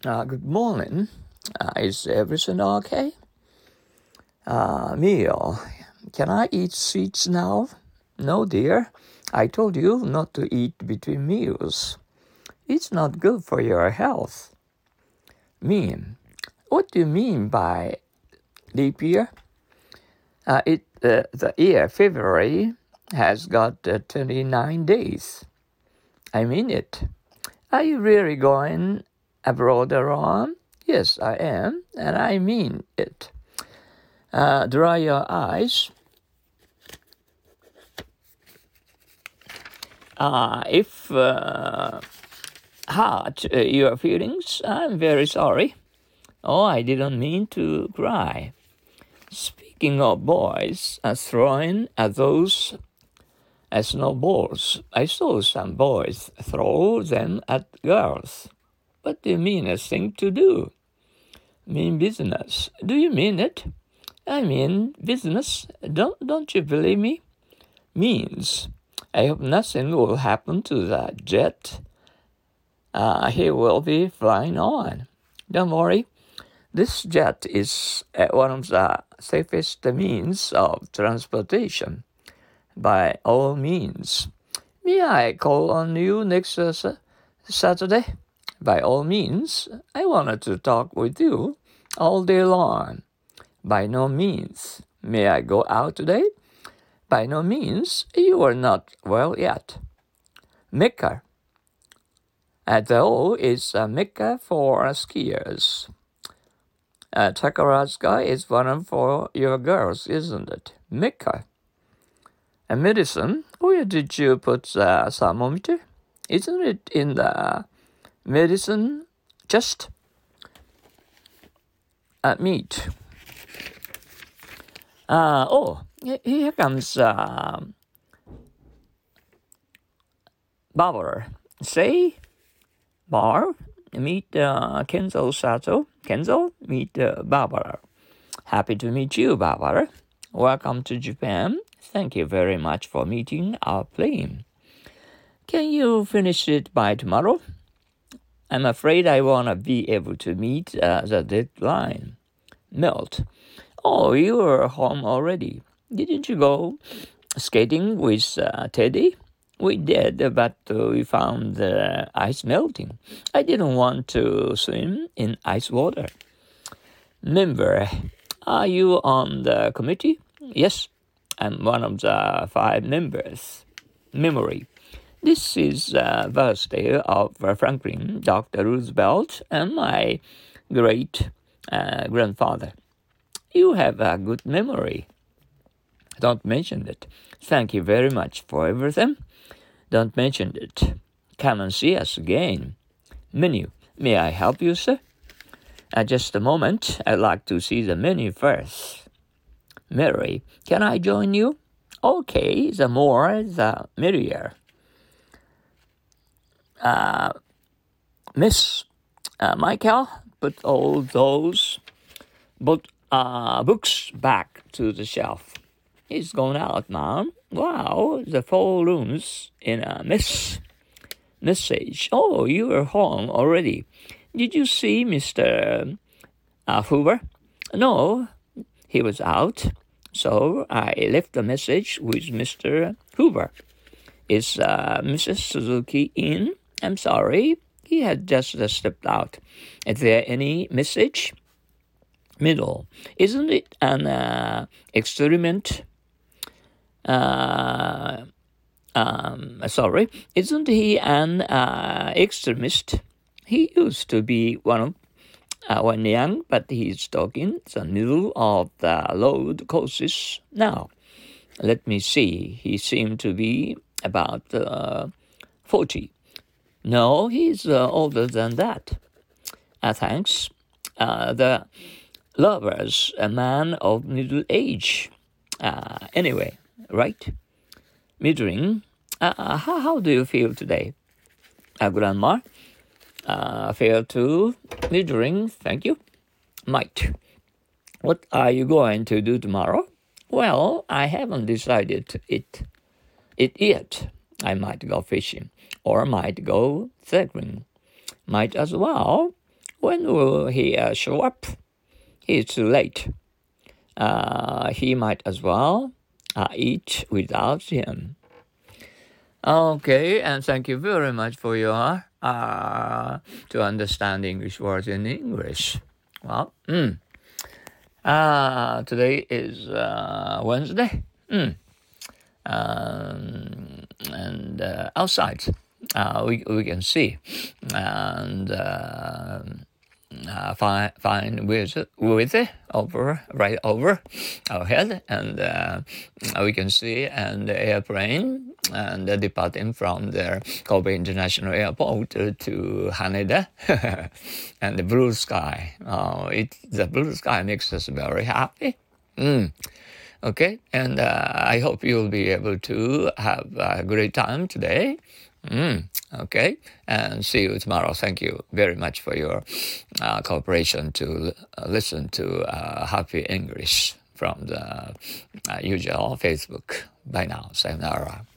Good morning. Is everything okay? Meal. Can I eat sweets now? No, dear. I told you not to eat between meals. It's not good for your health. Mean. What do you mean by leap year? The year February has got 29 days. I mean it. Are you really going abroad, Ron? Yes, I am, and I mean it. Dry your eyes. If hurt your feelings, I'm very sorry. Oh, I didn't mean to cry. Speaking of boys throwing at those snowballs, I saw some boys throw them at girls. What do you mean a thing to do? Mean business. Do you mean it? I mean business. Don't you believe me? Means. I hope nothing will happen to that jet. He will be flying on. Don't worry. This jet is one of the safest means of transportation. By all means. May I call on you next Saturday? By all means. I wanted to talk with you all day long. By no means. May I go out today? By no means. You are not well yet. Mecca. Though is a Mecca for skiers. Takarazuka is one for your girls, isn't it? Mecca. Medicine. Where did you put the thermometer? Isn't it in the medicine chest? Meat. Here comes Barbara. Say, Barb, meet Kenzo Sato. Kenzo, meet Barbara. Happy to meet you, Barbara. Welcome to Japan. Thank you very much for meeting our plane. Can you finish it by tomorrow? I'm afraid I want to be able to meet the deadline. Melt. Oh, you're home already. Didn't you go skating with Teddy? We did, but we found the ice melting. I didn't want to swim in ice water. Member, are you on the committee? Yes, I'm one of the 5 members. Memory. This is the birthday of Franklin, Dr. Roosevelt, and my great-grandfather. You have a good memory. Don't mention it. Thank you very much for everything. Don't mention it. Come and see us again. Menu. May I help you, sir? Just a moment. I'd like to see the menu first. Mary, can I join you? Okay, the more, the merrier. Miss Michael, put all those books back to the shelf. He's gone out, Mom. Wow, the 4 rooms in a message. Oh, you are home already. Did you see Mr. Hoover? No, he was out. So I left a message with Mr. Hoover. Is Mrs. Suzuki in? I'm sorry. He had just stepped out. Is there any message? Middle. Isn't it an experiment? Isn't he an extremist? He used to be when young, but he's talking the middle of the road courses now. Let me see. He seemed to be about 40. No, he's older than that. Thanks. The lover's a man of middle age. Anyway, right? Middling. How do you feel today? Grandma? Feel too middling, thank you. Might. What are you going to do tomorrow? Well, I haven't decided it yet. I might go fishing or might go cycling. Might as well. when will he show up? He's too late. He might as well eat without him. Okay, and thank you very much for your to understand English words in English. Well, today is Wednesday, and outside we can see and fine weather right over our head, and we can see an airplane and departing from the Kobe International Airport to Haneda, and the blue sky. The blue sky makes us very happy. Okay, and I hope you'll be able to have a great time today. Okay, and see you tomorrow. Thank you very much for your cooperation to listen to Happy English from the usual Facebook. Bye now. Sayonara.